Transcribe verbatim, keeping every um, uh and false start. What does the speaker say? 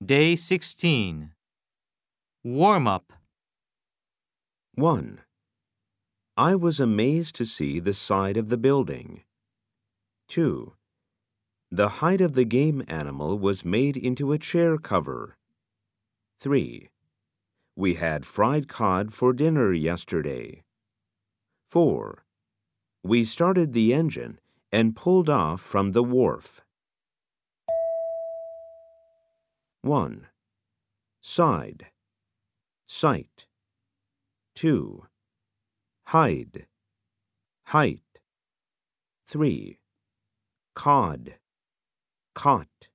Day sixteen. Warm up. one. I was amazed to see the side of the building. two. The hide of the game animal was made into a chair cover. three. We had fried cod for dinner yesterday. four. We started the engine and pulled off from the wharf. one. Side. Sight. two. Hide. Height. three. Cod. Caught.